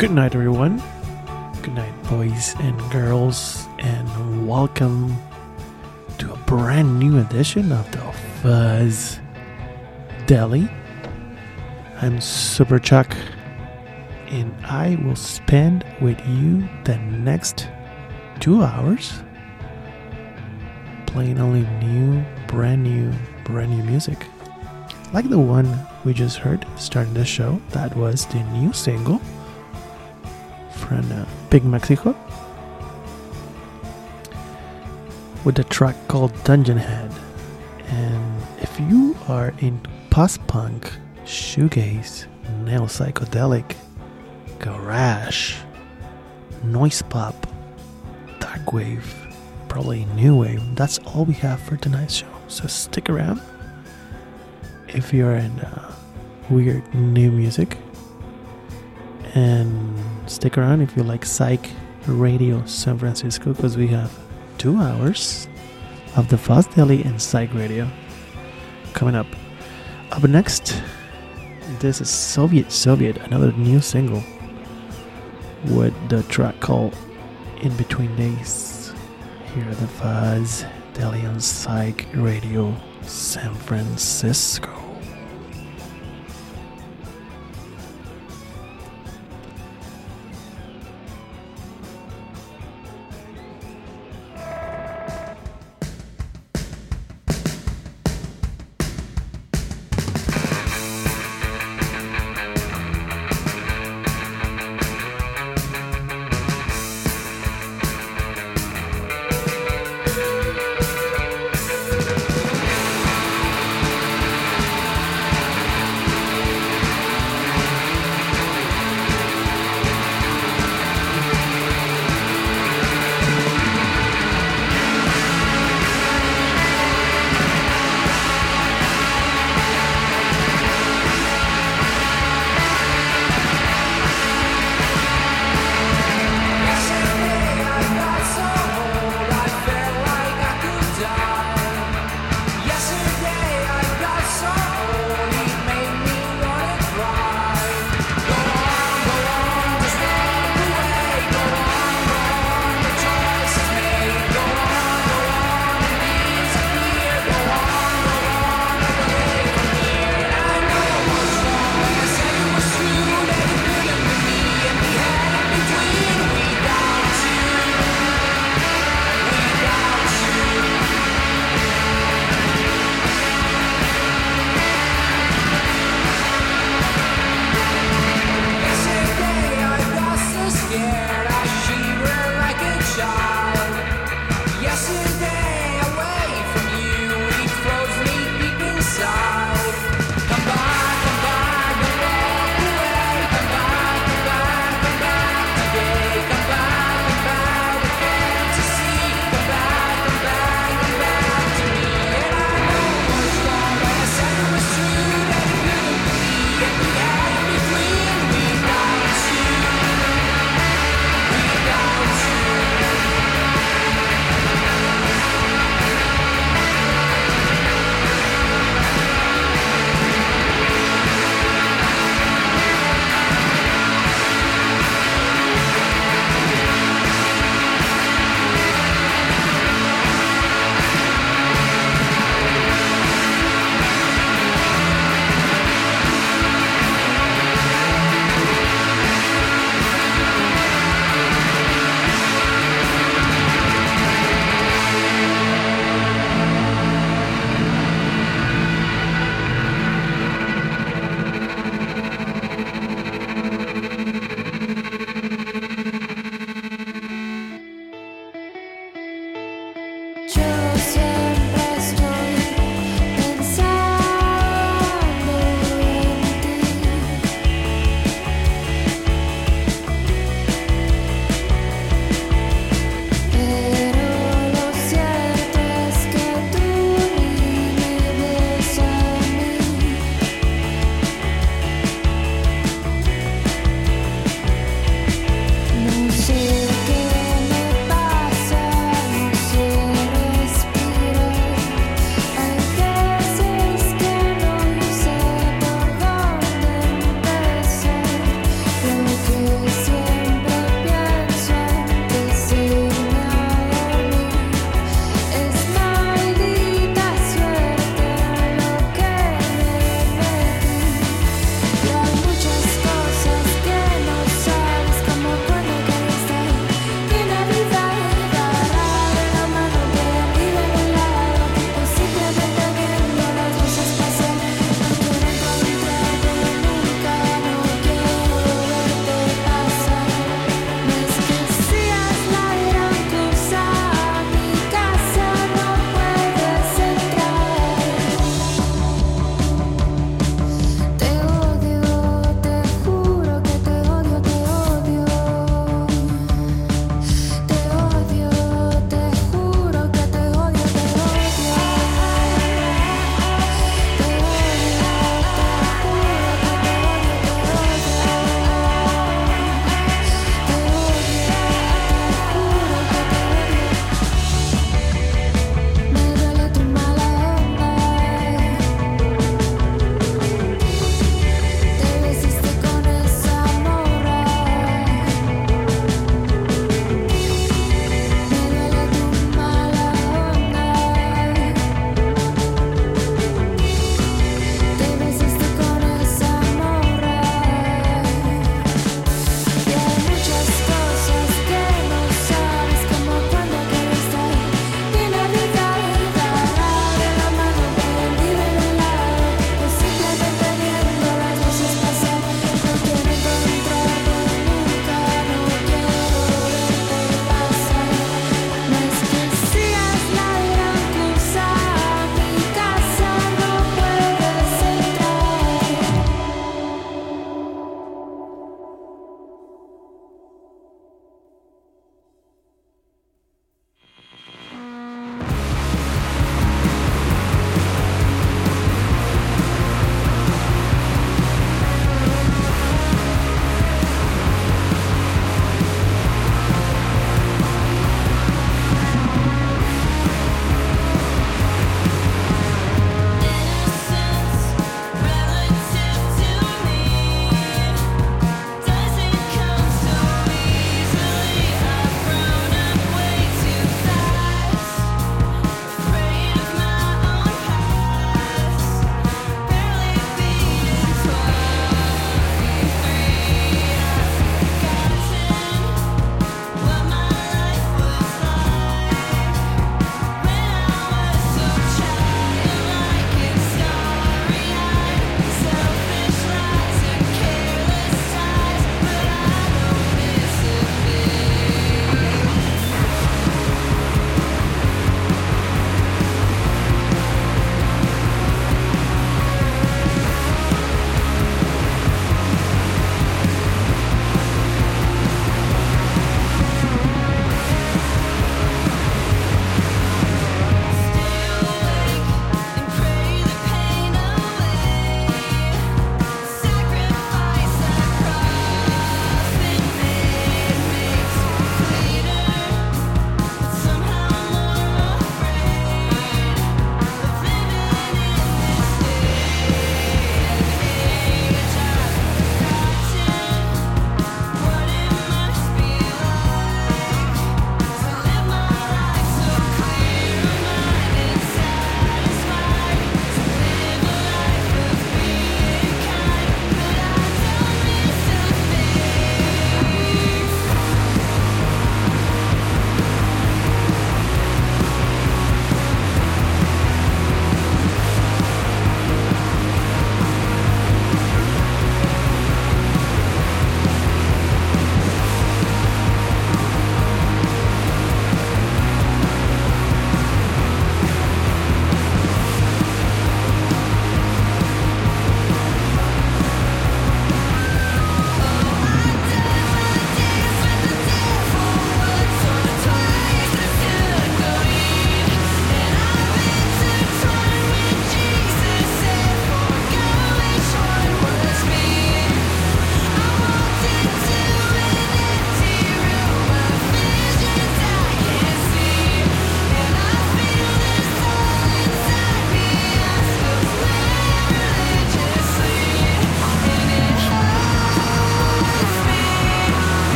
Good night, everyone. Good night, boys and girls, and welcome to a brand new edition of the Fuzz Deli. I'm Super Chuck, and I will spend with you the next 2 hours playing only brand new music. Like the one we just heard starting the show, that was the new single from Big Mexico with the track called Dungeon Head. And if you are in post-punk, shoegaze, neo-psychedelic, garage, noise pop, dark wave, probably new wave, that's all we have for tonight's show. So stick around. If you're in weird new music, and stick around if you like Psych Radio San Francisco, because we have 2 hours of the Fuzz Deli and Psych Radio coming up. Up next, this is Soviet, another new single with the track called In Between Days. Here at the Fuzz Deli and Psych Radio San Francisco.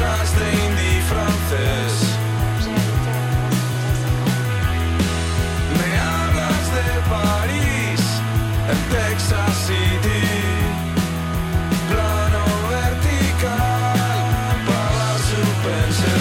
hablas de indie francés. Me hablas de París, en Texas City. Plano vertical, para suspense.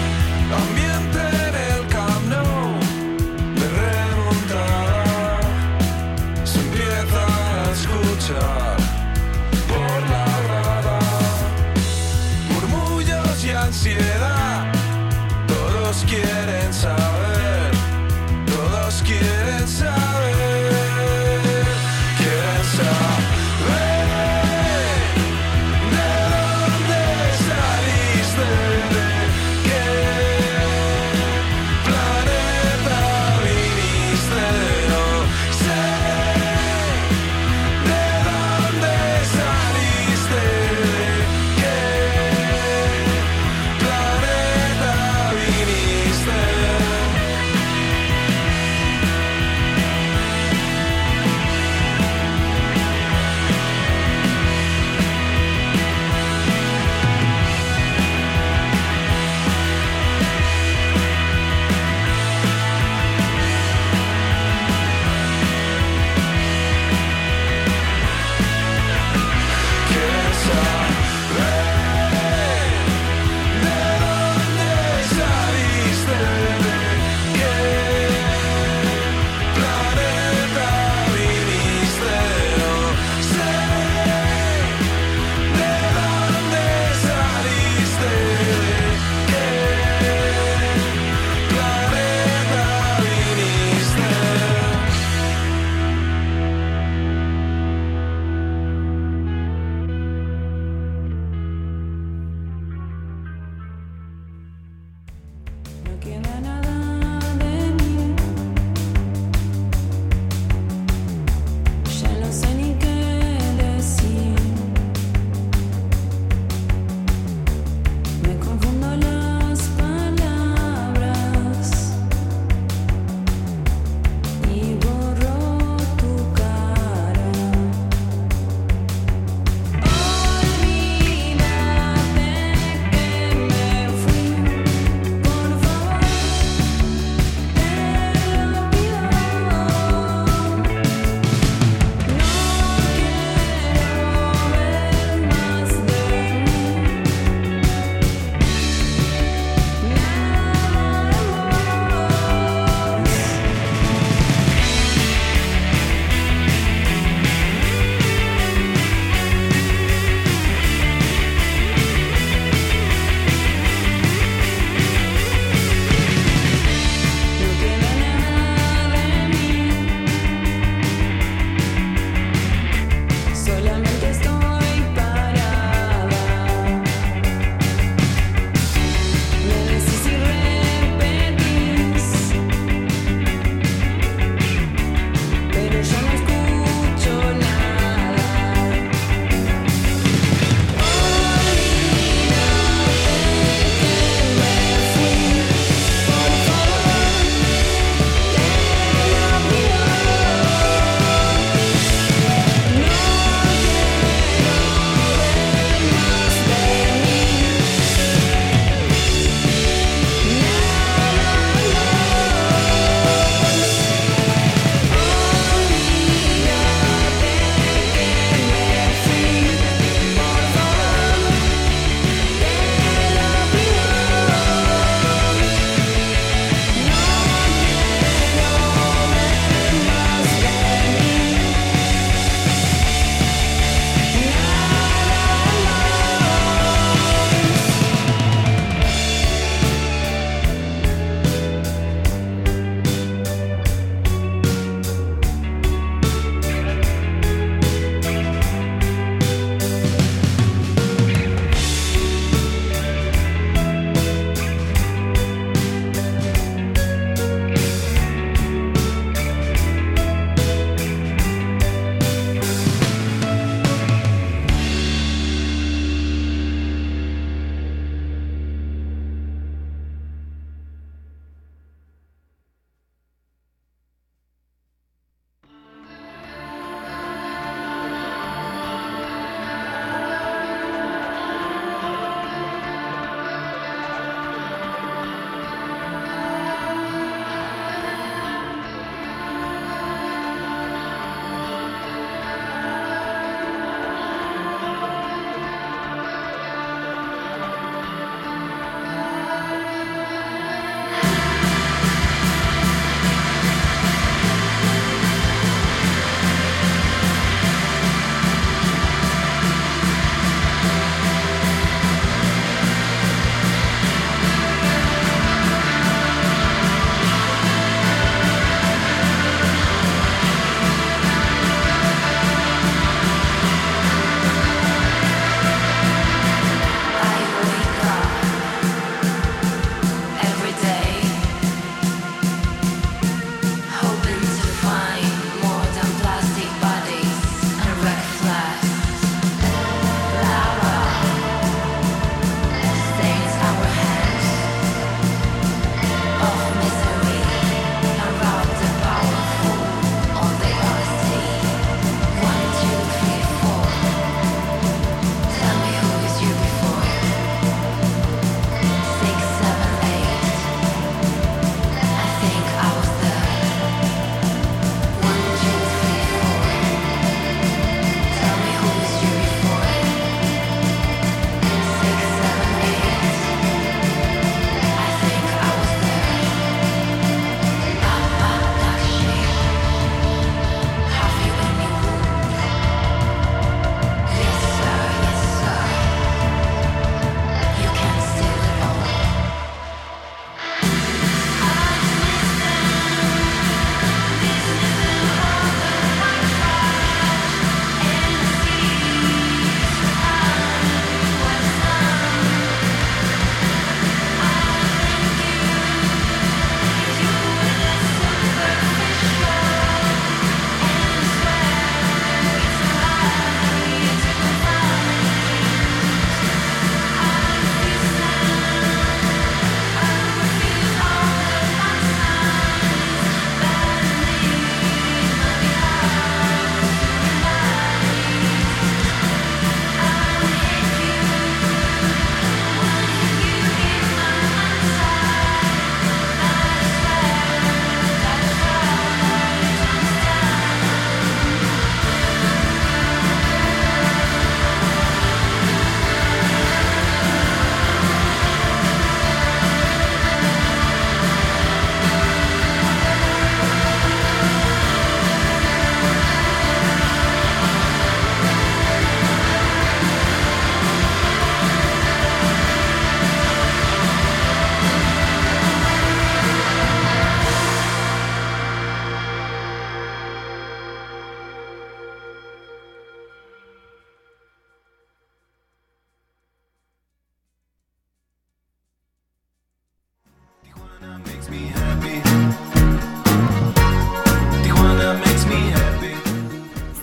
Ambiente en el Camp Nou, de remontada.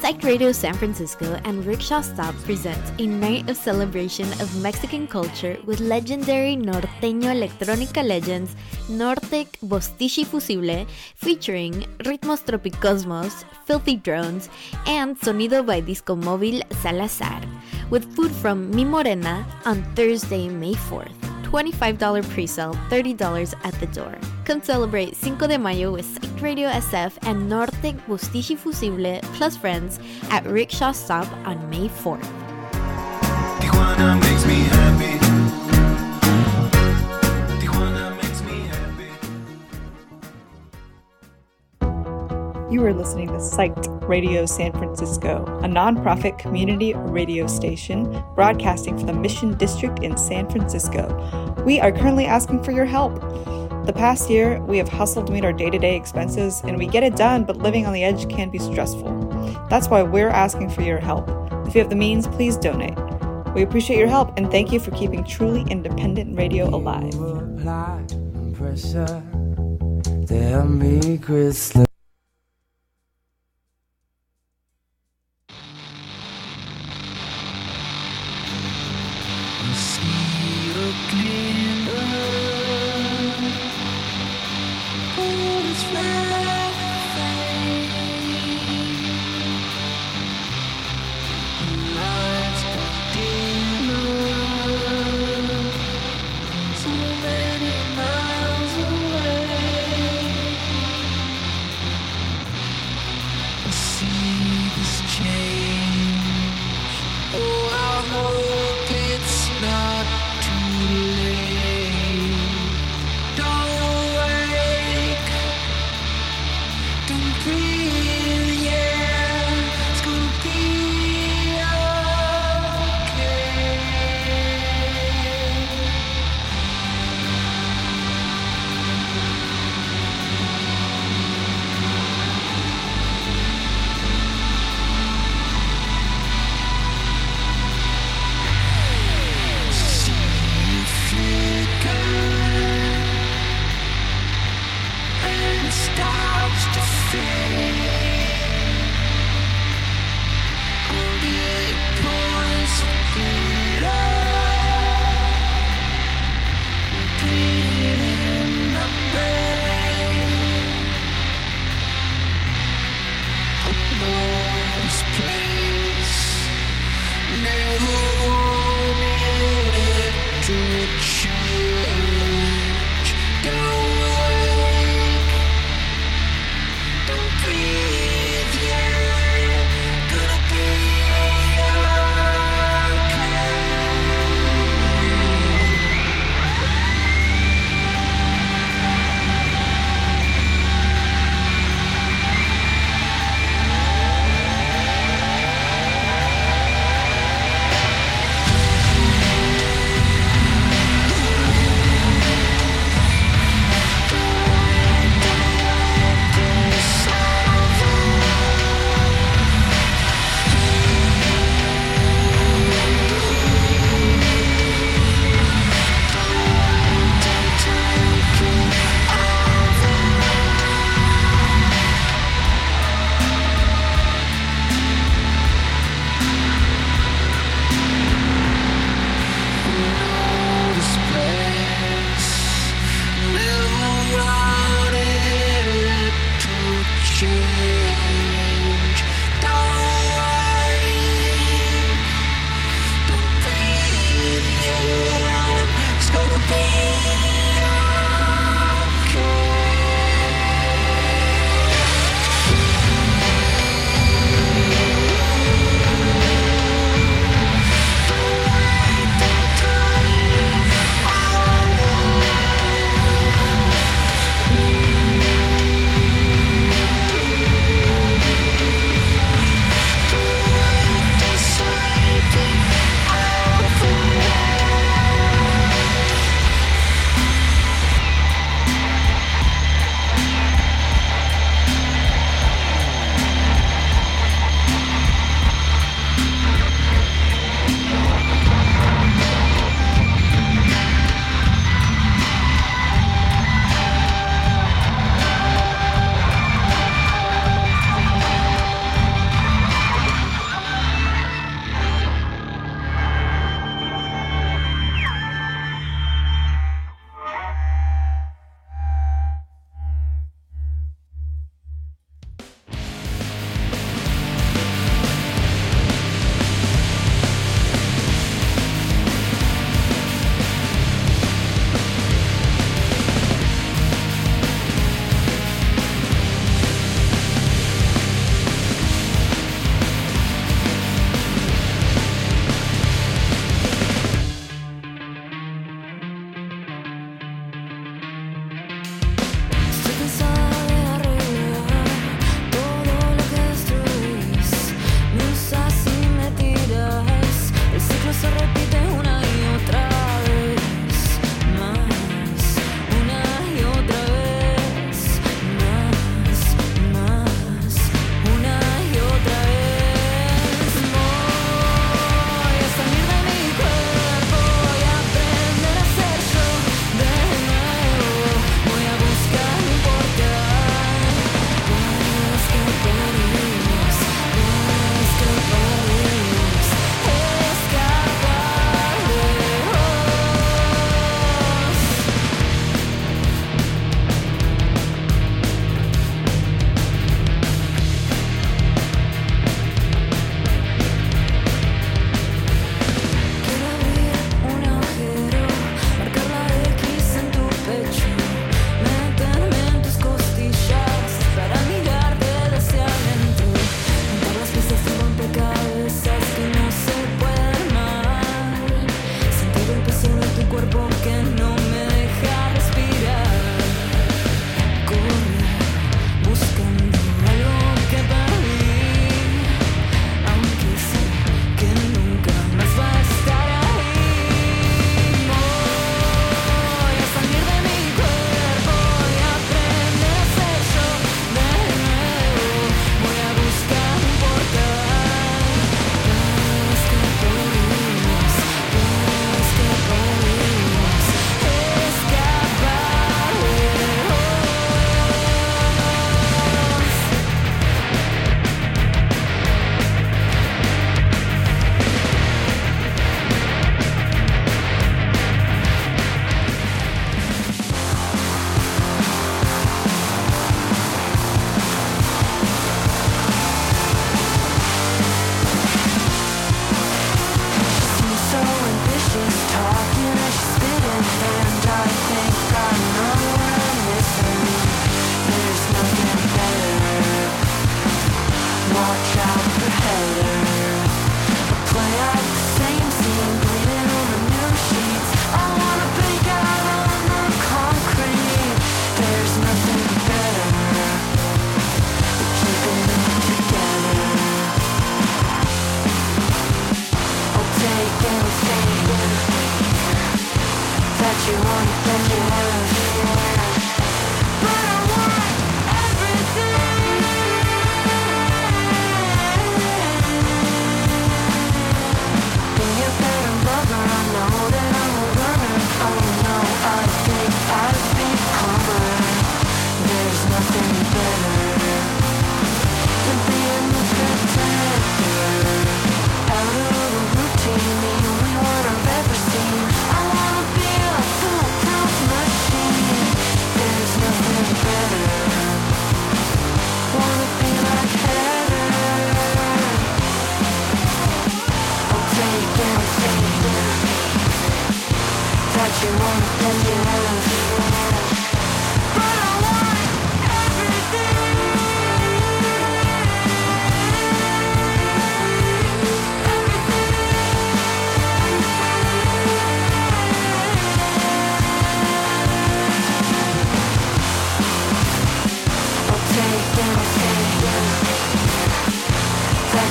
Psych Radio San Francisco and Rickshaw Stop present a night of celebration of Mexican culture with legendary norteño electrónica legends Nortec Bostichi Fusible, featuring Ritmos Tropicosmos, Filthy Drones, and Sonido by Disco Móvil Salazar, with food from Mi Morena on Thursday, May 4th. $25 pre-sale, $30 at the door. Come celebrate Cinco de Mayo with Psych Radio SF and Nortec Bostichi Fusible plus friends at Rickshaw Stop on May 4th. Tijuana makes me happy. Tijuana makes me happy. You are listening to Psyched Radio San Francisco, a nonprofit community radio station broadcasting from the Mission District in San Francisco. We are currently asking for your help. The past year, we have hustled to meet our day-to-day expenses, and we get it done, but living on the edge can be stressful. That's why we're asking for your help. If you have the means, please donate. We appreciate your help, and thank you for keeping truly independent radio alive. Apply pressure. Tell me, Chris.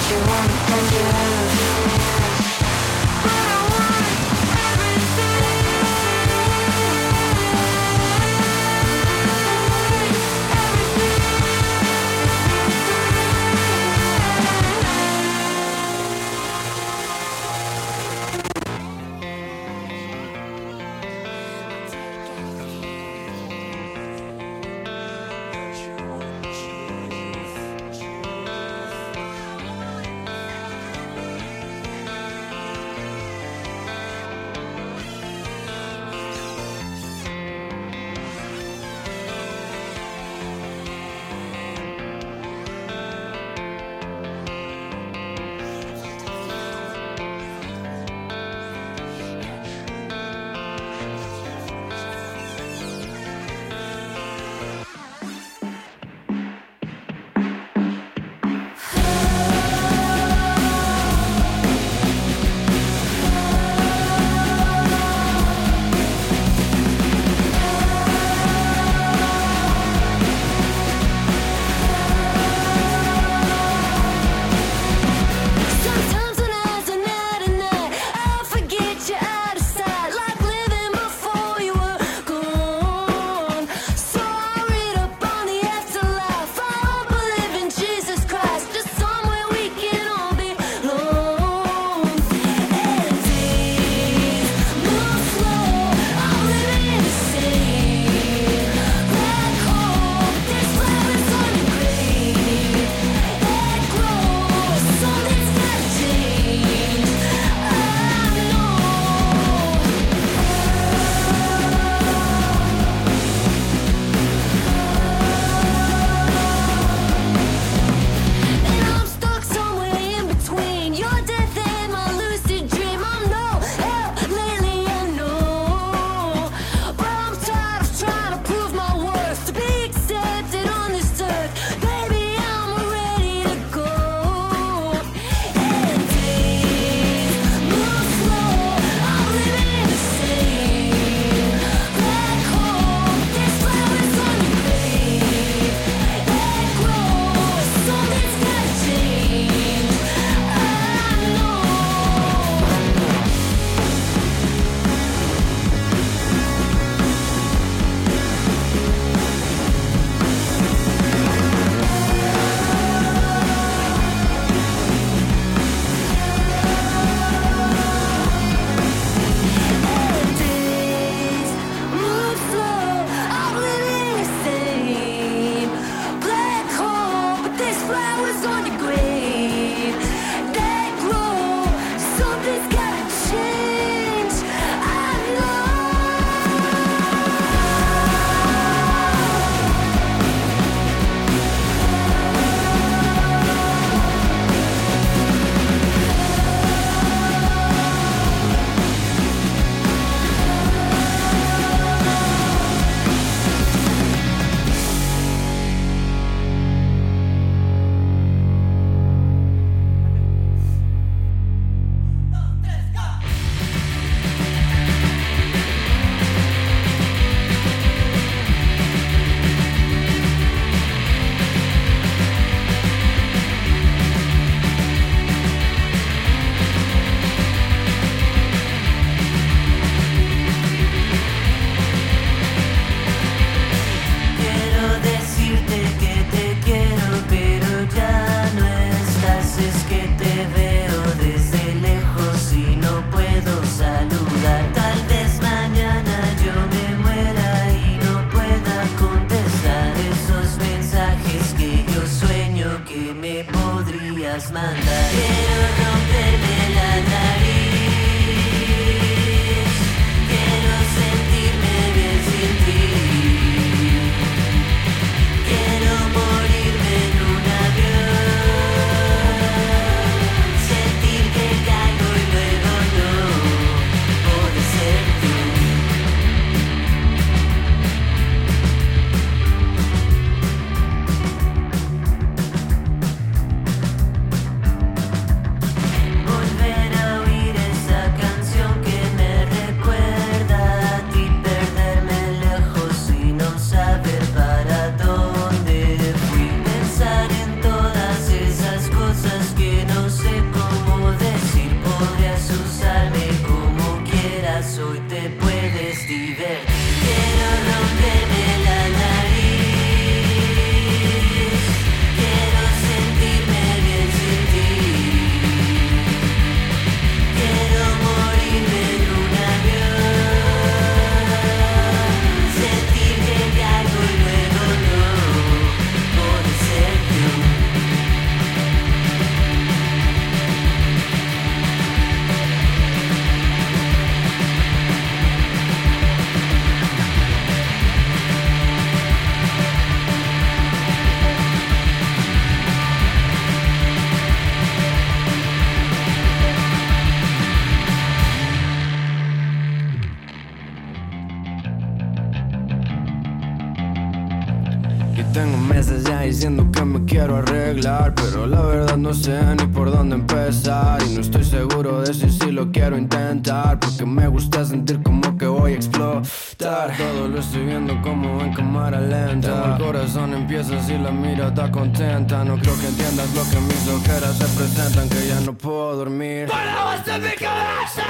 Volver a oír línea diciendo que me quiero arreglar, pero la verdad no sé ni por dónde empezar. Y no estoy seguro de si lo quiero intentar, porque me gusta sentir como que voy a explotar. Todo lo estoy viendo como en cámara lenta. El corazón empieza así, la mirada contenta. No creo que entiendas lo que mis ojeras representan, que ya no puedo dormir. ¡Para de mi cabeza!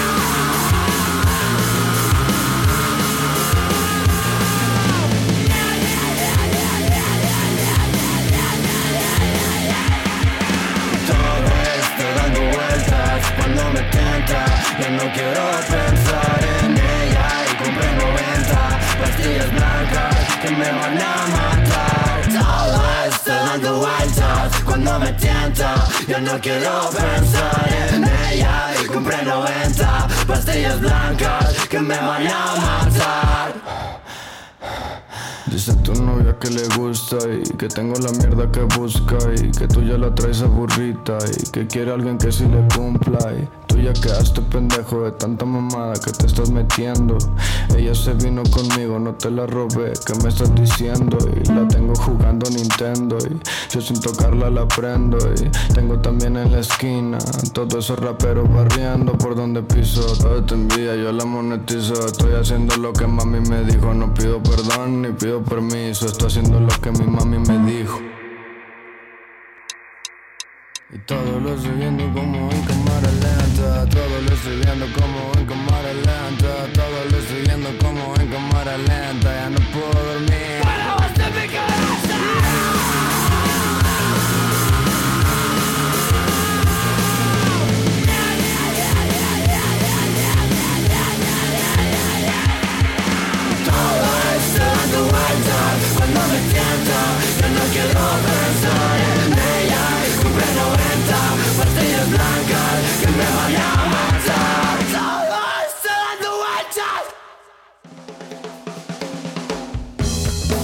Cuando me tienta, ya no quiero pensar en ella. Y compré 90 pastillas blancas que me van a matar. Todo esto dando vueltas. Cuando me tienta, ya no quiero pensar en ella. Y compré 90 pastillas blancas que me van a matar. Dice tu novia que le gusta y que tengo la mierda que busca, y que tú ya la traes aburrida y que quiere alguien que sí le cumpla. Y tú ya quedaste pendejo de tanta mamada que te estás metiendo. Ella se vino conmigo, no te la robé, ¿qué me estás diciendo? Y la tengo jugando Nintendo y yo sin tocarla la prendo. Y tengo también en la esquina todos esos raperos barriendo por donde piso. Todo te envía, yo la monetizo. Estoy haciendo lo que mami me dijo. No pido perdón ni pido permiso, estoy haciendo lo que mi mami me dijo. Y todo lo estoy viendo como en cámara lenta. Todo lo estoy viendo como en cámara lenta. Todo lo estoy viendo como en cámara lenta. Ya no puedo dormir. ¡Para de mi cabeza! Cuando me tienta, yo no quiero pensar en ella. Y compré 90 pastillas blancas que me van a matar. Todo está dando vueltas.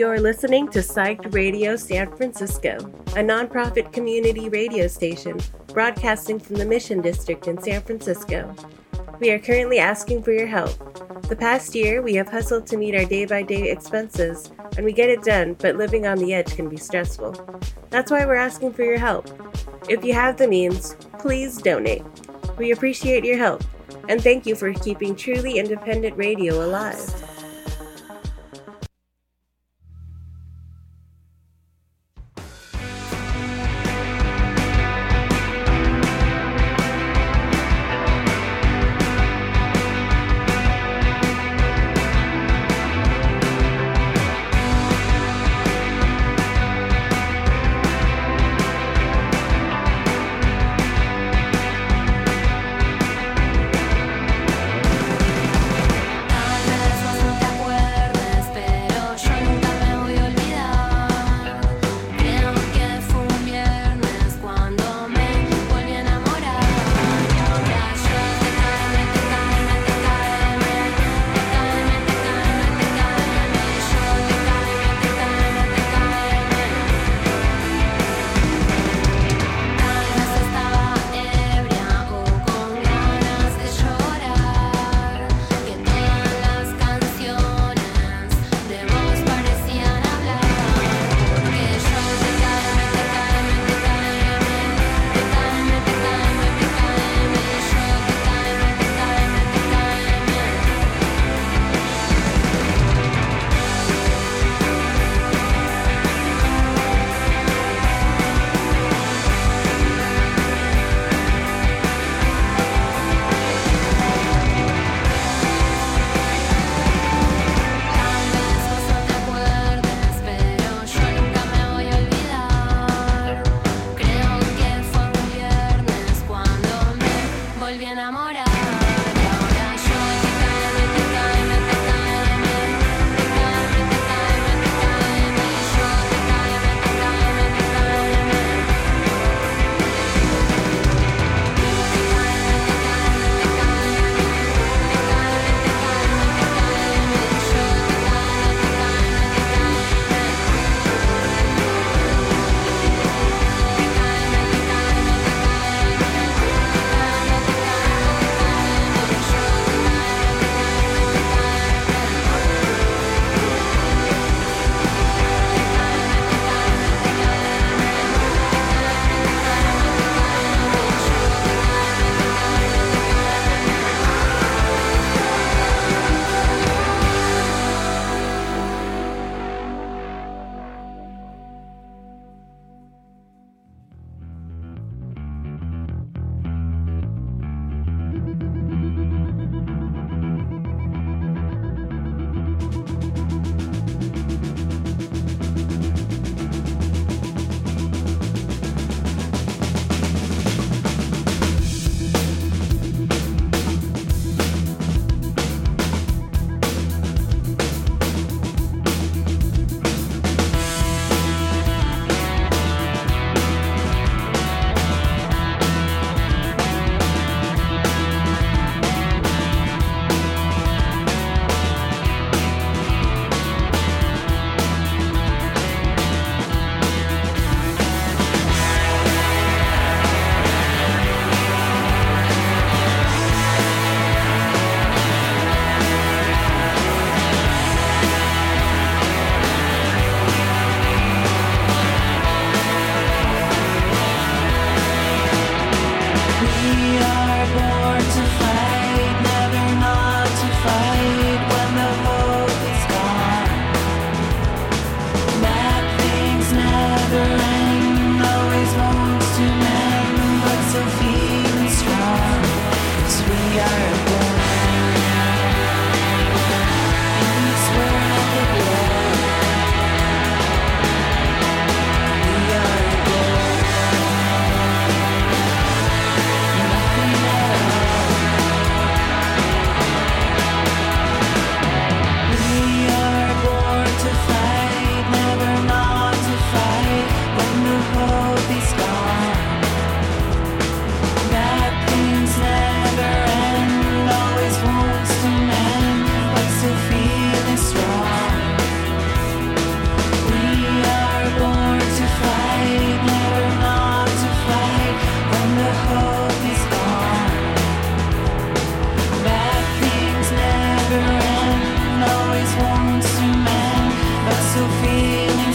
You're listening to Psyched Radio San Francisco, a nonprofit community radio station broadcasting from the Mission District in San Francisco. We are currently asking for your help. The past year, we have hustled to meet our day-by-day expenses, and we get it done, but living on the edge can be stressful. That's why we're asking for your help. If you have the means, please donate. We appreciate your help, and thank you for keeping truly independent radio alive. Tal vez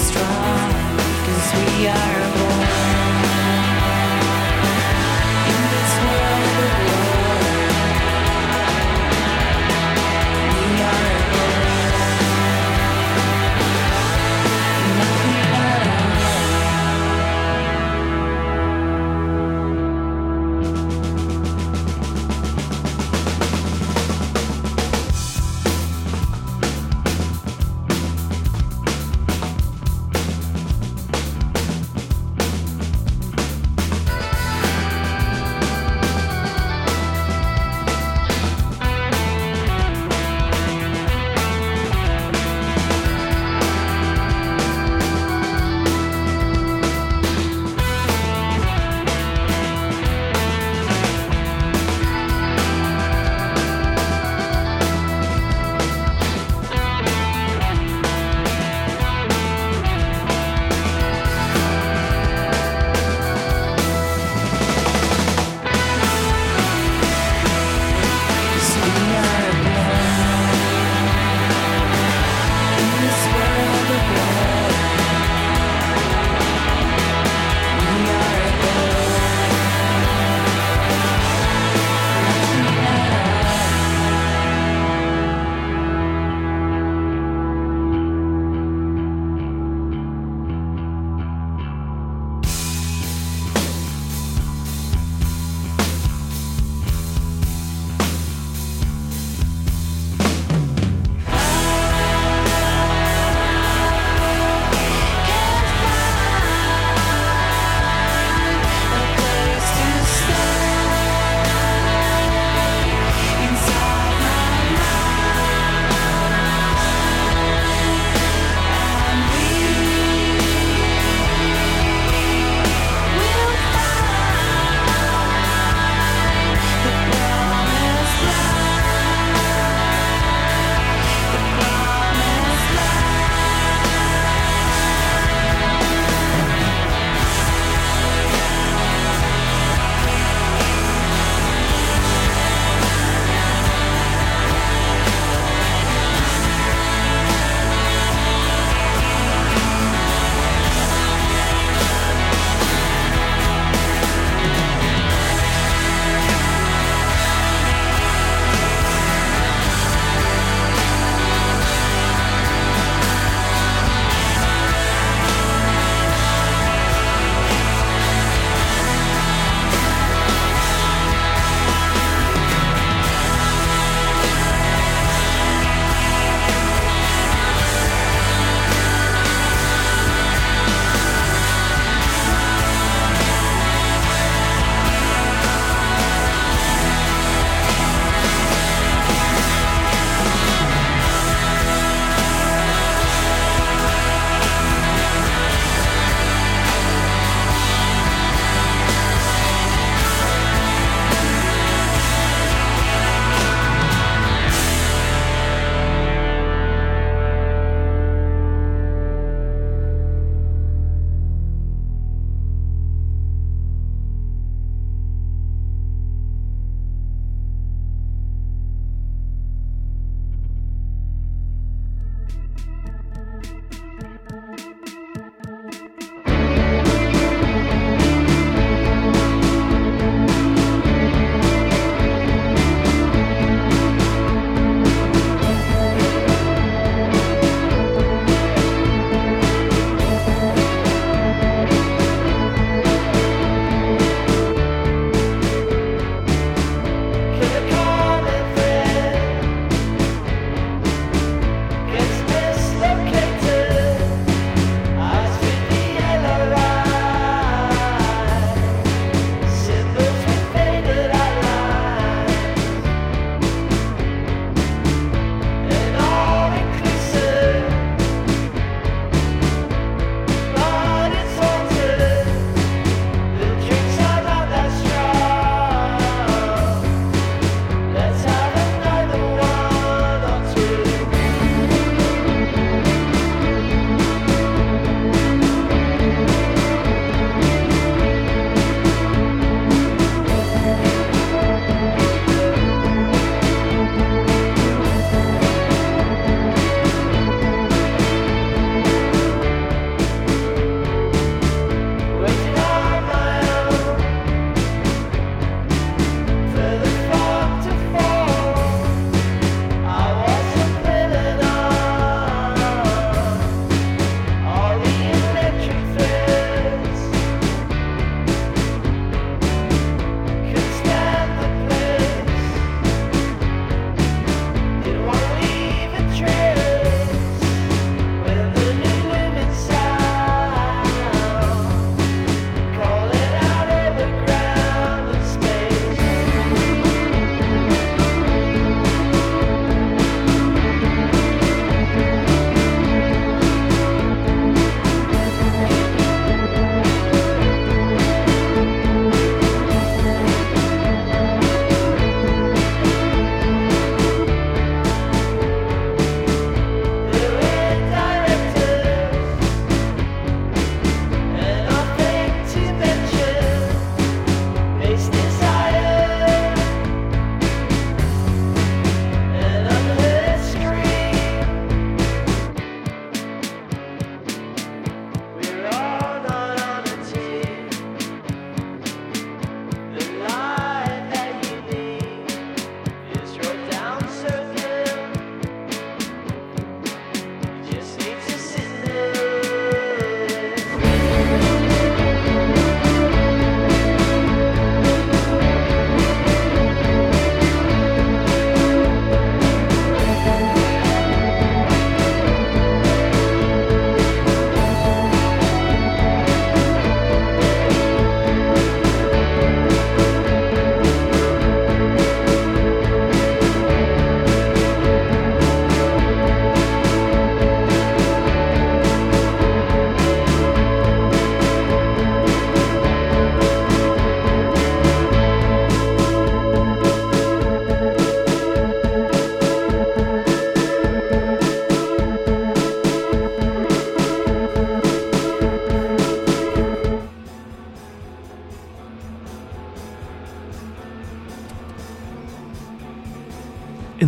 strong, 'cause we are born in this world of war. We are born, nothing at all.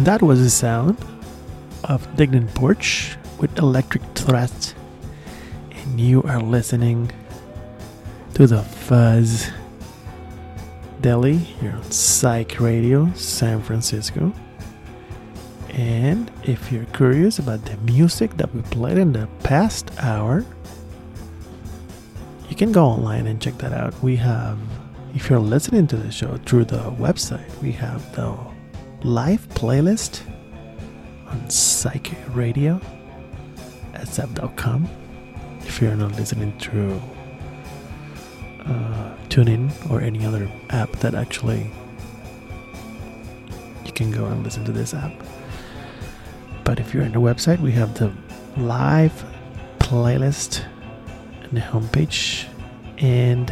That was the sound of Dignant Porch with Electric Threat. And you are listening to the Fuzz Deli here on Psych Radio San Francisco. And if you're curious about the music that we played in the past hour, you can go online and check that out. We have, if you're listening to the show through the website, we have the live playlist on Psych Radio sf.com. If you're not listening through TuneIn or any other app that actually you can go and listen to this app. But if you're on the website, we have the live playlist on the homepage. And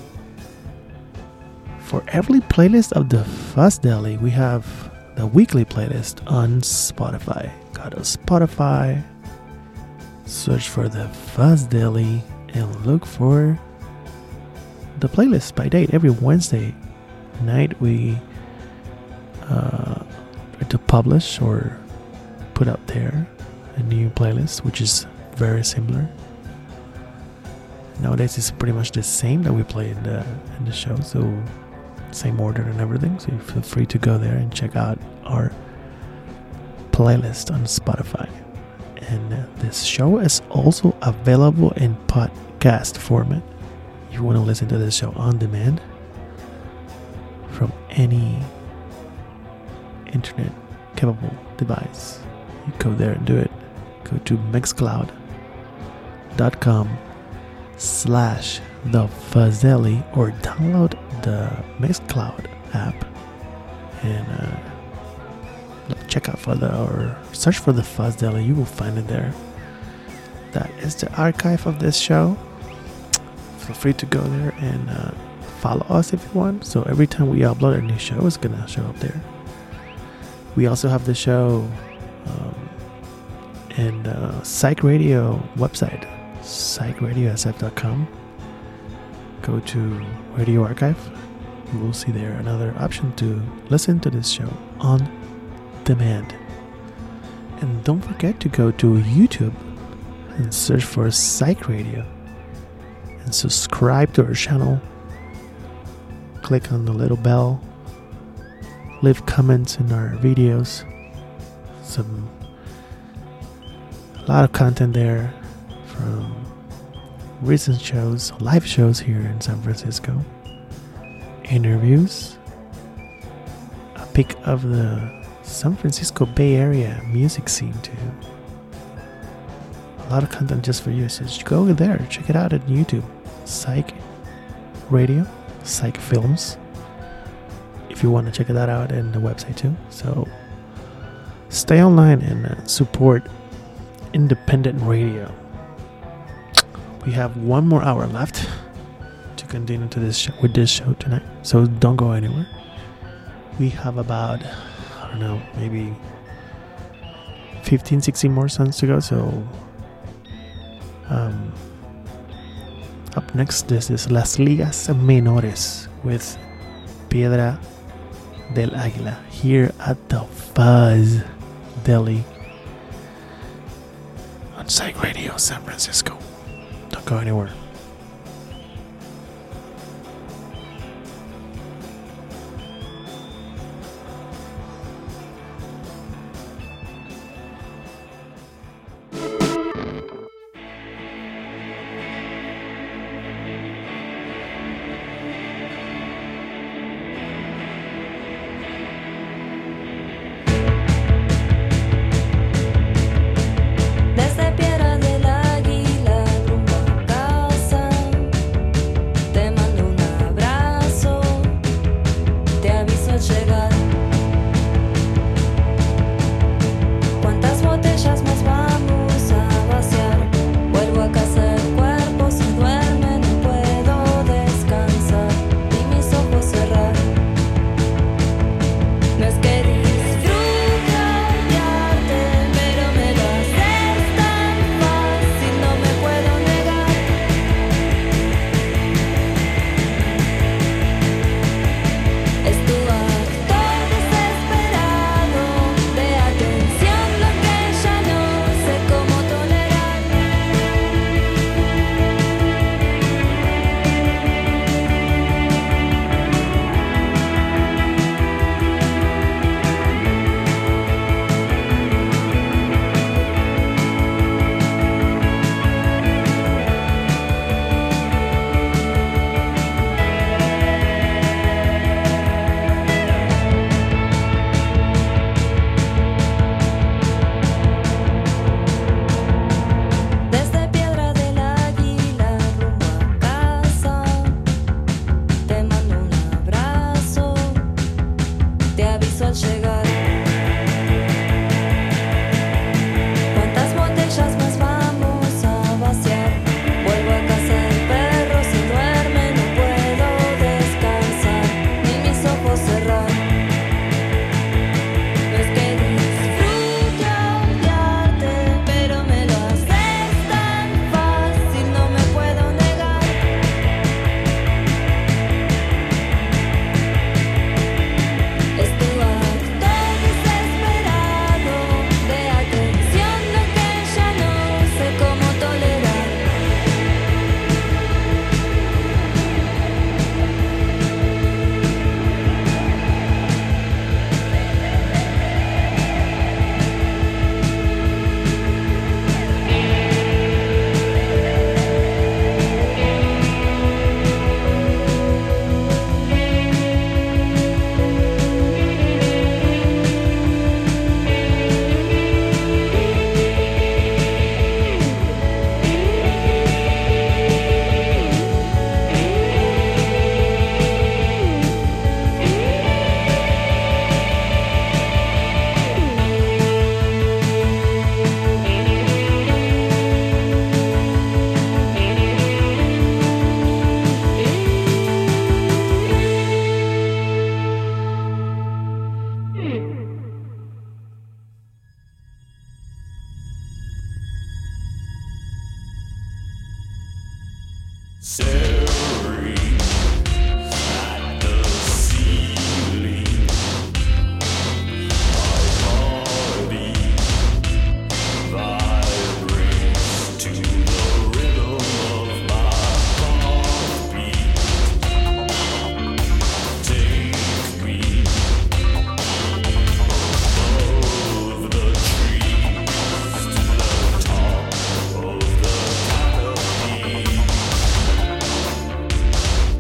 for every playlist of the Fuzz Deli, we have the weekly playlist on Spotify. Go to Spotify, search for the Fuzz Deli, and look for the playlist by date. Every Wednesday night we try to publish or put out there a new playlist, which is very similar. Nowadays it's pretty much the same that we play in the show, so same order and everything. So you feel free to go there and check out our playlist on Spotify. And this show is also available in podcast format. If you want to listen to this show on demand from any internet capable device, you go there and do it. Go to mixcloud.com/thefuzzeli or download the Mixcloud app and check out or search for the Fuzz Deli. You will find it there. That is the archive of this show. Feel free to go there and follow us if you want. So every time we upload a new show, it's gonna show up there. We also have the show and Psych Radio website, psychradiosf.com. Go to Radio Archive. You will see there another option to listen to this show on demand. And don't forget to go to YouTube and search for Psych Radio and subscribe to our channel. Click on the little bell. Leave comments in our videos. A lot of content there from recent shows, live shows here in San Francisco, interviews, a pic of the San Francisco Bay Area music scene too. A lot of content just for you. So just go over there, check it out at YouTube. Psych Radio, Psych Films. If you want to check that out, and the website too. So stay online and support independent radio. We have one more hour left to continue to this show, with this show tonight. So don't go anywhere. We have about, I don't know, maybe 15, 16 more songs to go. So up next, this is Las Ligas Menores with Piedra del Águila here at the Fuzz Deli on Psych Radio San Francisco. Don't go anywhere. Desde Piedra del Águila rumbo a Staring at the ceiling, my body vibrates to the rhythm of my heartbeat. Take me above the trees to the top of the canopy.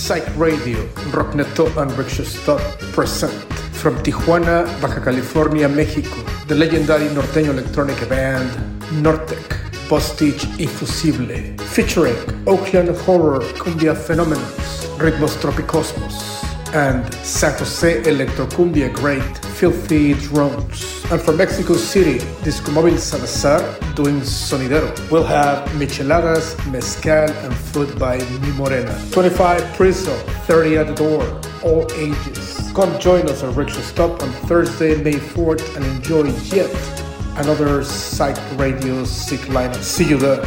Psych Radio, Rockneto and Rickshaw Stop present from Tijuana, Baja California, Mexico, the legendary norteño electronic band Nortec, Postage Infusible, featuring Oakland Horror Cumbia Phenomenons, Ritmos Tropicosmos, and San Jose Electrocumbia great Filthy Drones. And from Mexico City, Disco Móvil Salazar doing Sonidero. We'll have micheladas, mezcal, and food by Mi Morena. 25 Priso, 30 at the door, all ages. Come join us at Rickshaw Stop on Thursday, May 4th, and enjoy yet another Psych Radio sick lineup. See you there.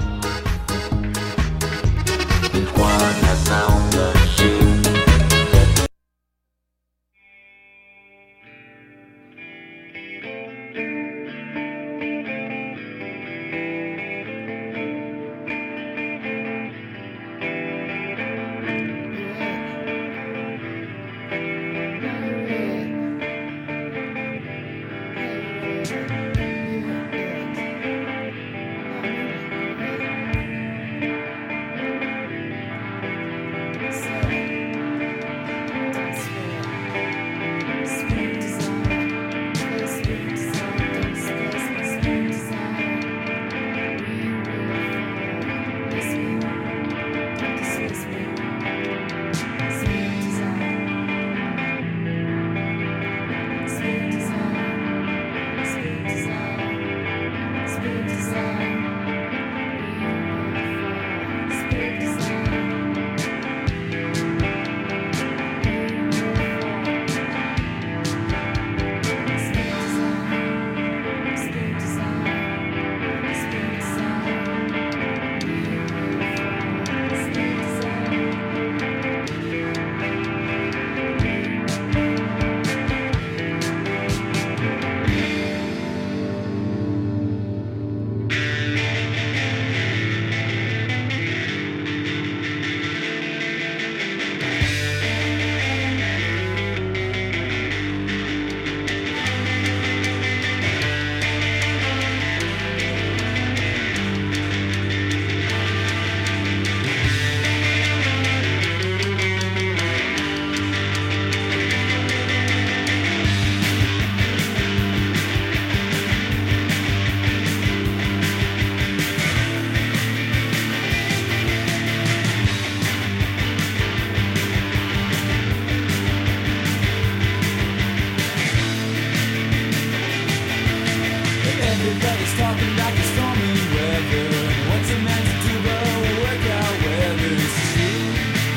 Everybody's talking about the stormy weather. What's a man to do but work out whether it's true?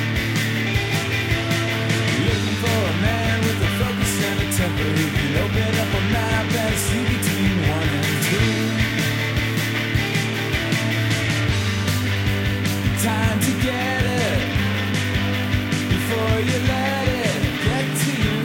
Looking for a man with a focus and a temper who can open up a map and see between 1 and 2. Time to get it before you let it get to you.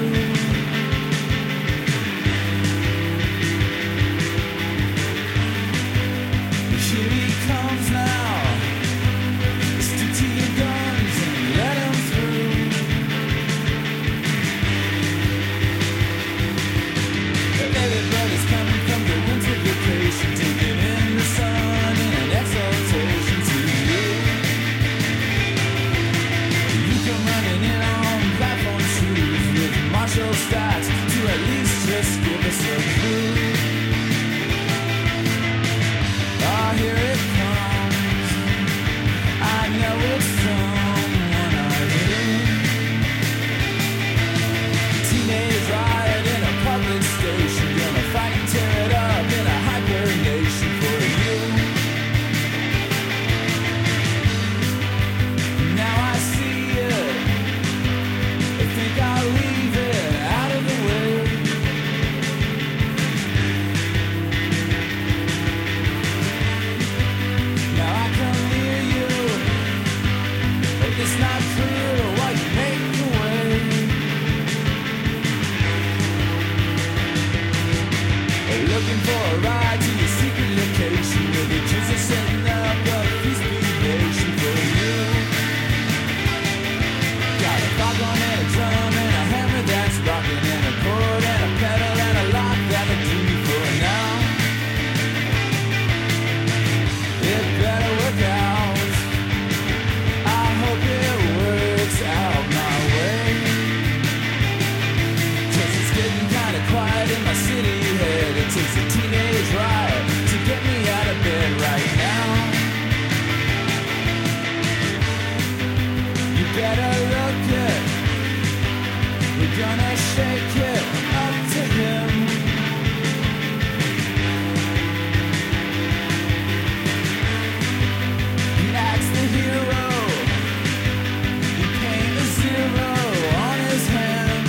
Here he comes now. Stick to your guns and let him through. Everybody's coming from the winter vacation, taking in the sun in an exaltation to you. You come running in on platform shoes with martial stats to at least just give us a clue. Oh, here it comes. I know it's someone I knew. Teenage riot in a public station, gonna fight and tear it up in a hyper nation for you. Now I see it. I think I'll leave it out of the way. Now I can hear you. It's not clear why you make the way. Looking for a ride to your secret location where the kids are setting up a feast nation for you. Got a foghorn and a drum and a hammer that's rocking and a chord and a pedal and a lock that'll do me for now. It better work out. I hope it works. better look it. We're gonna shake it up to him. He acts the hero. He paint a zero on his hand.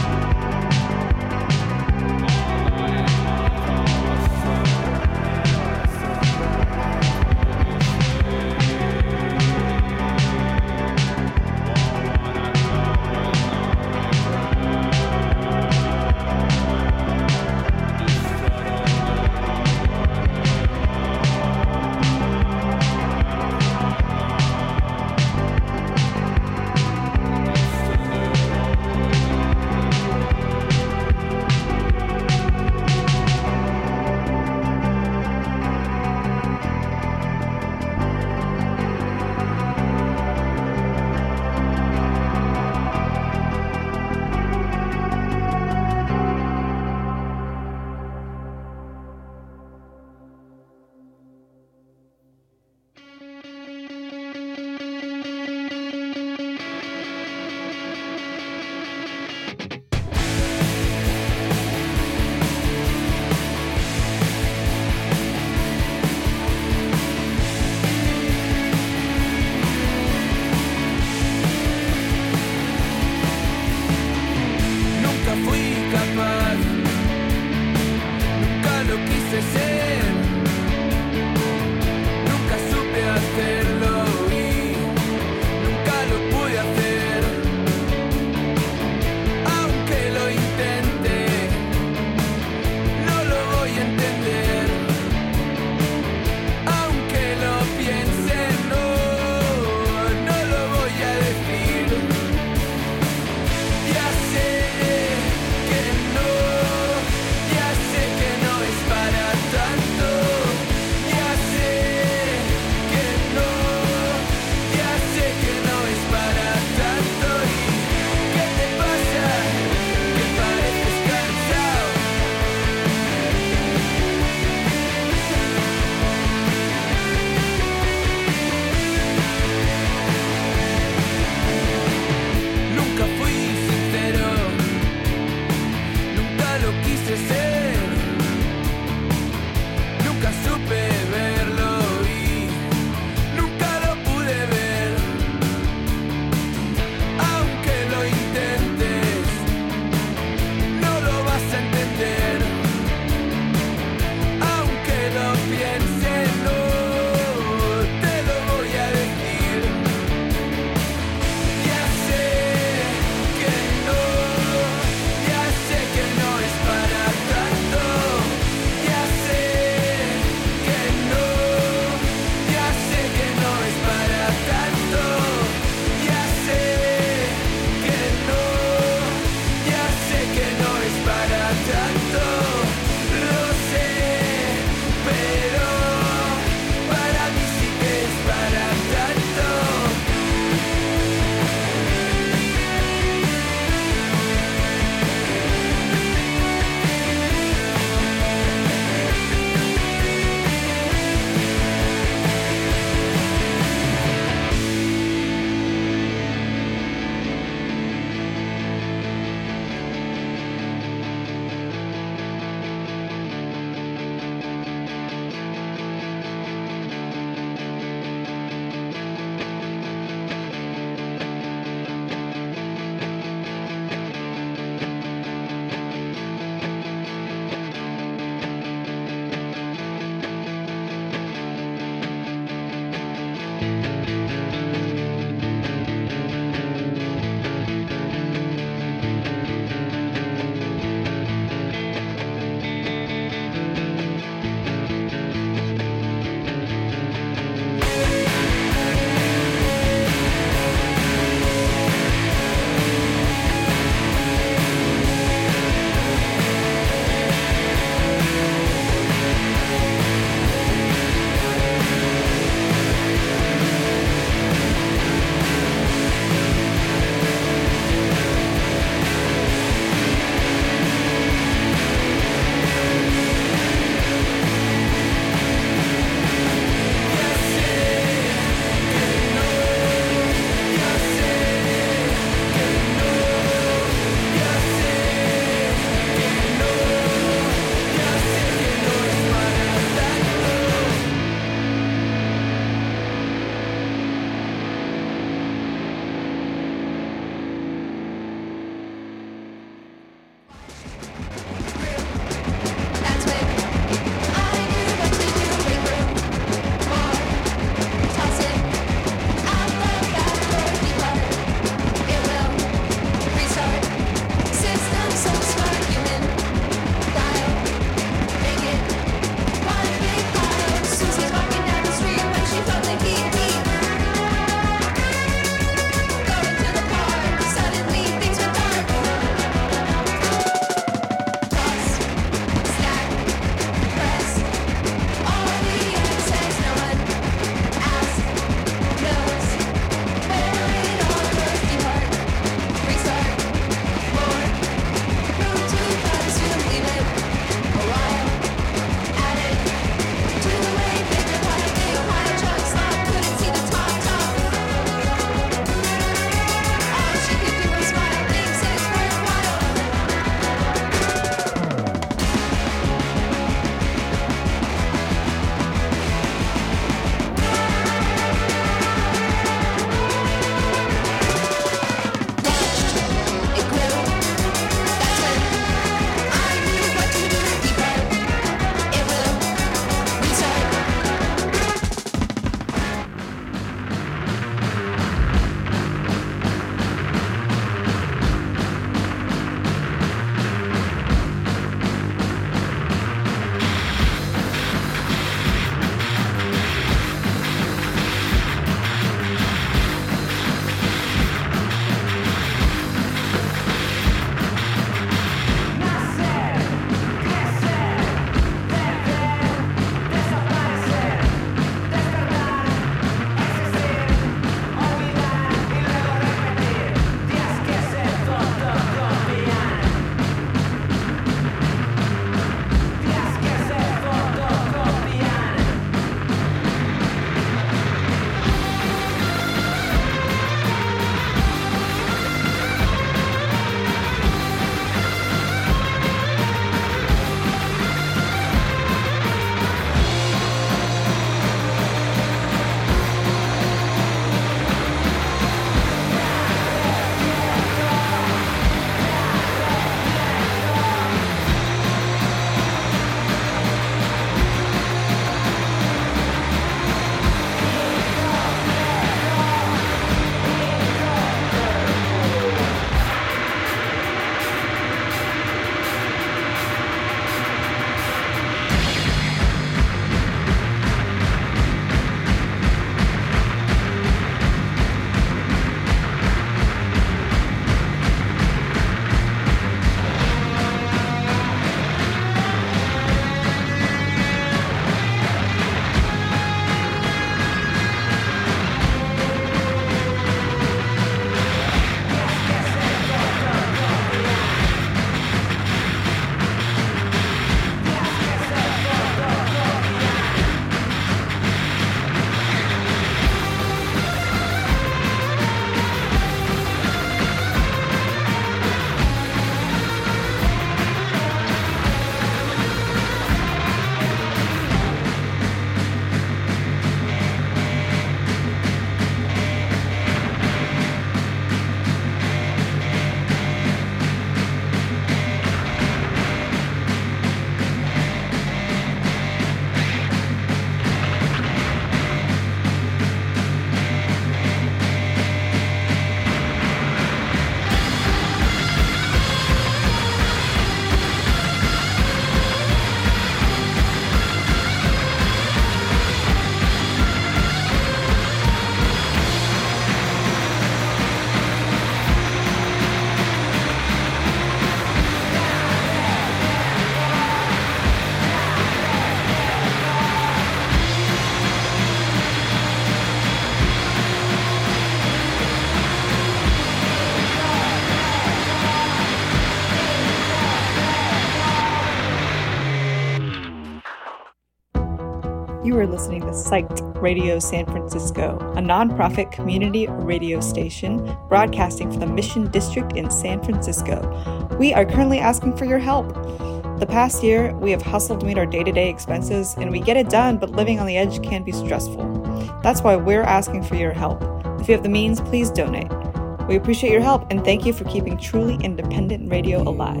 are listening to Psyched Radio San Francisco, a nonprofit community radio station broadcasting from the Mission District in San Francisco. We are currently asking for your help. The past year, we have hustled to meet our day-to-day expenses, and we get it done, but living on the edge can be stressful. That's why we're asking for your help. If you have the means, please donate. We appreciate your help, and thank you for keeping truly independent radio alive.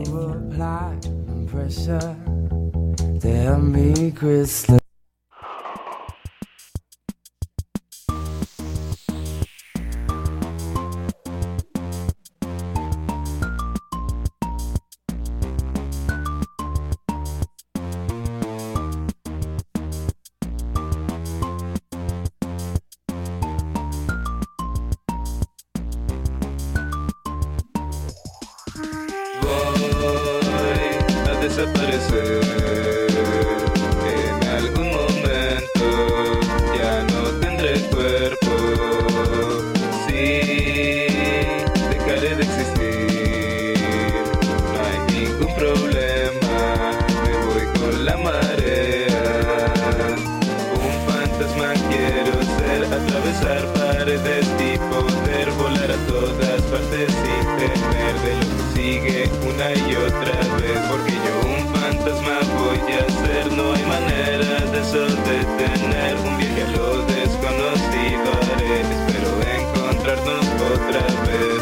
Tell me, Crystal. Desaparecer en algún momento, ya no tendré cuerpo. Sí, dejaré de existir, no hay ningún problema, me voy con la marea. Un fantasma quiero ser, atravesar paredes y poder volar a todas partes sin temer de lo que sigue una y otra vez, porque yo un fantasma voy a ser, no hay manera de eso detener un viaje a lo desconocido haré, espero encontrarnos otra vez.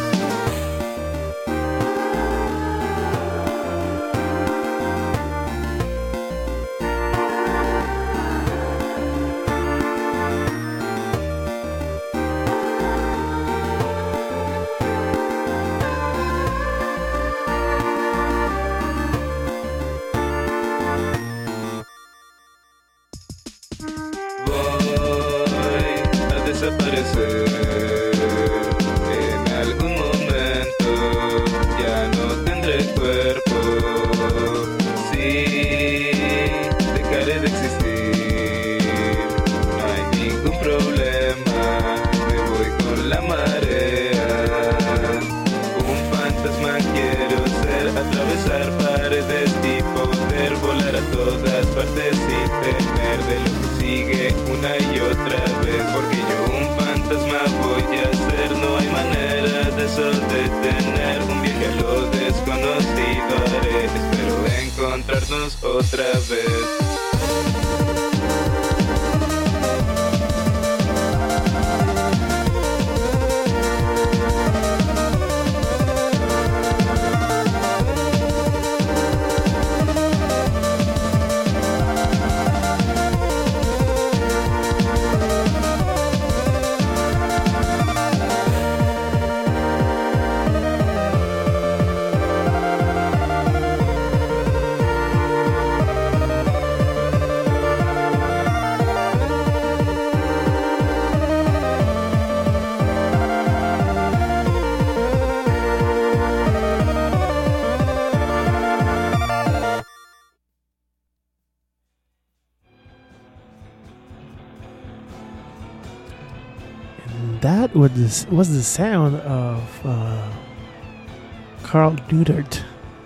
Desaparecer en algún momento, ya no tendré cuerpo. Sí, dejaré de existir, no hay ningún problema, me voy con la marea. Un fantasma quiero ser, atravesar paredes y poder volar a todas partes sin temer de lo que sigue una y otra vez, porque yo un fantasma voy a ser, no hay manera de eso detener un viaje a lo desconocido haré, espero encontrarnos otra vez. That was the sound of Carl Neudert.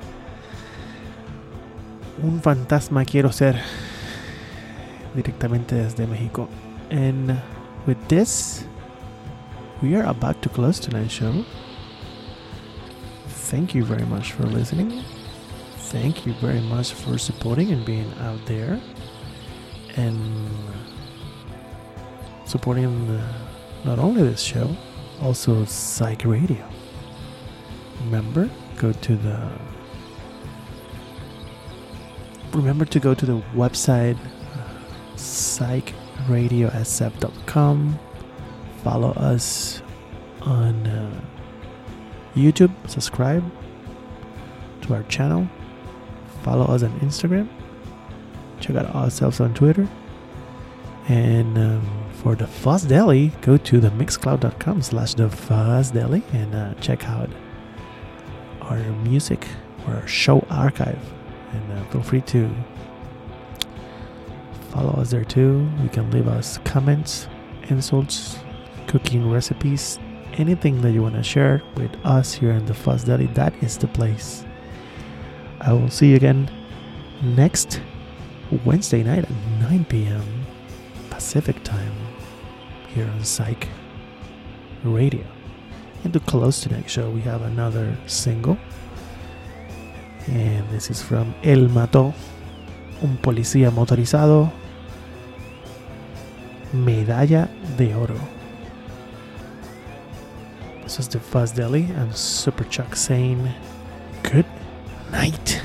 Un fantasma quiero ser, directamente desde México. And with this, we are about to close tonight's show. Thank you very much for listening. Thank you very much for supporting and being out there and supporting not only this show, also Psych Radio. Remember to go to the website psychradiosf.com. Follow us on YouTube. Subscribe to our channel. Follow us on Instagram. Check out ourselves on Twitter. And for the Fuzz Deli, go to the mixcloud.com/thefuzzDeli and check out our music or our show archive. And feel free to follow us there too. You can leave us comments, insults, cooking recipes, anything that you want to share with us here in the Fuzz Deli. That is the place. I will see you again next Wednesday night at 9 p.m. Pacific time here on Psych Radio. And to close tonight's show, we have another single. And this is from Él Mató, un policía motorizado, Medalla de Oro. This is the Fuzz Deli and Super Chuck saying good night.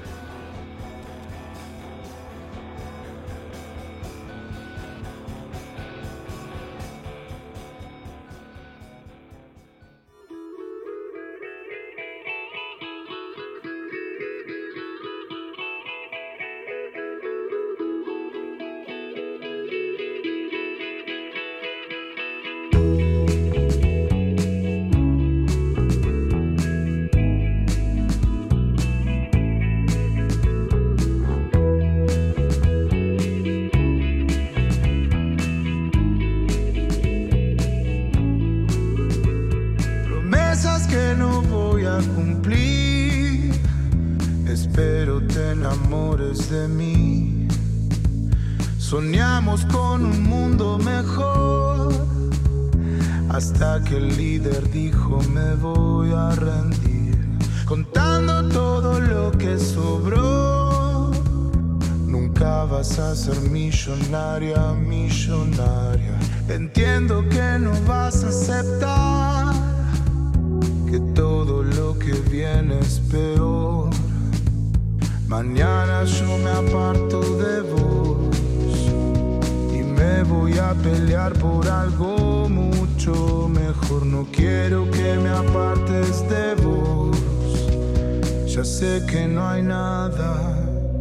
Soñamos con un mundo mejor, hasta que el líder dijo me voy a rendir, contando todo lo que sobró. Nunca vas a ser millonaria, millonaria. Entiendo que no vas a aceptar que todo lo que viene es peor. Mañana yo me aparto de vos y me voy a pelear por algo mucho mejor. No quiero que me apartes de vos, ya sé que no hay nada.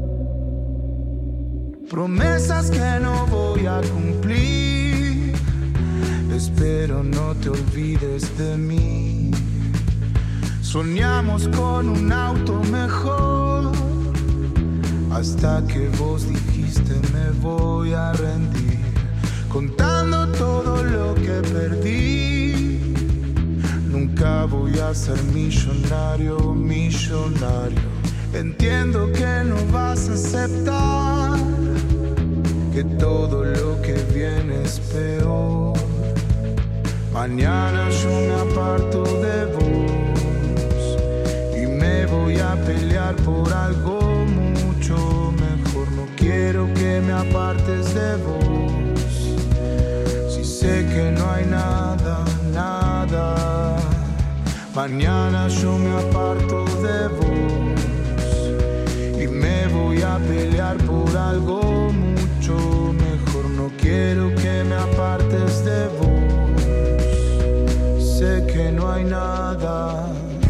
Promesas que no voy a cumplir, espero no te olvides de mí. Soñamos con un auto mejor, hasta que vos dijiste me voy a rendir, contando todo lo que perdí. Nunca voy a ser millonario, millonario. Entiendo que no vas a aceptar que todo lo que viene es peor. Mañana yo me aparto de vos y me voy a pelear por algo mucho mejor. No quiero que me apartes de vos, si sé que no hay nada, nada. Mañana yo me aparto de vos y me voy a pelear por algo mucho mejor. No quiero que me apartes de vos, sé que no hay nada.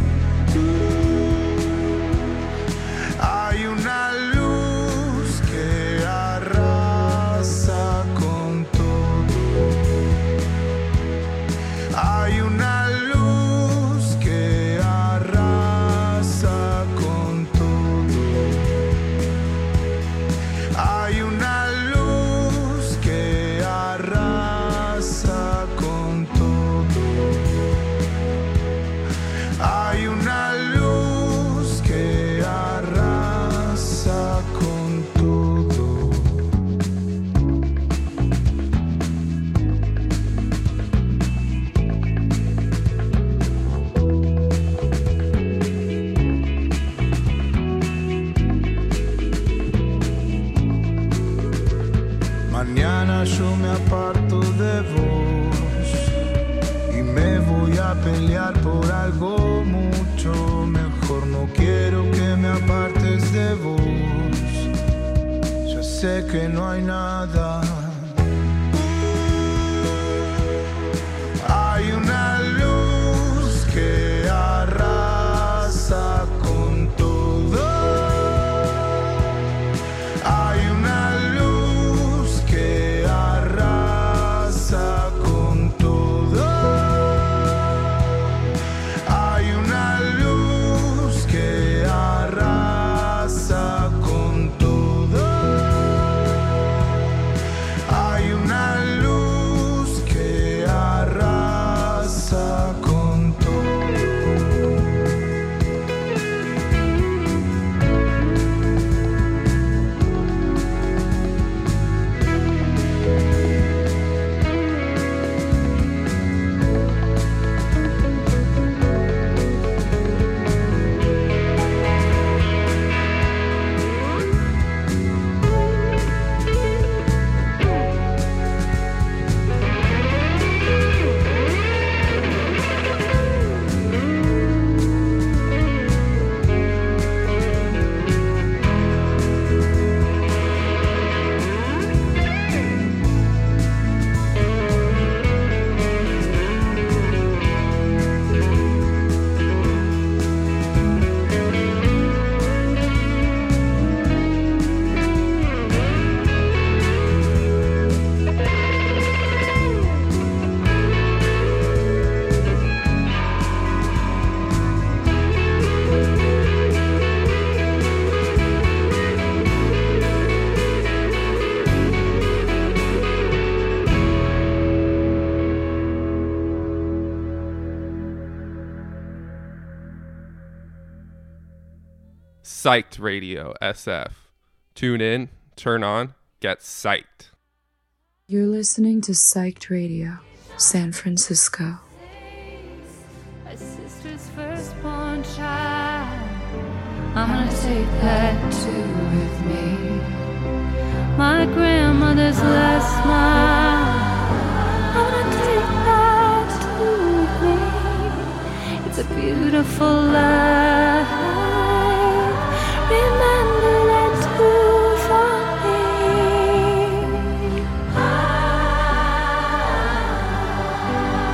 Hay una luz que arrasa con todo. Hay una luz que arrasa con todo. Hay una luz que arrasa con todo. Hay una luz que arrasa con todo. Mañana yo me aparto de vos y me voy a pelear por algo mucho mejor. No quiero que me apartes de vos, ya sé que no hay nada. Hay una luz que arrasa con todo. Hay una luz que arrasa con todo. Hay una luz que arrasa con todo. Psyched Radio SF. Tune in, turn on, get psyched. You're listening to Psyched Radio, San Francisco. My sister's firstborn child, I'm gonna take that too with me. My grandmother's last smile, I'm gonna take that too with me. It's a beautiful life.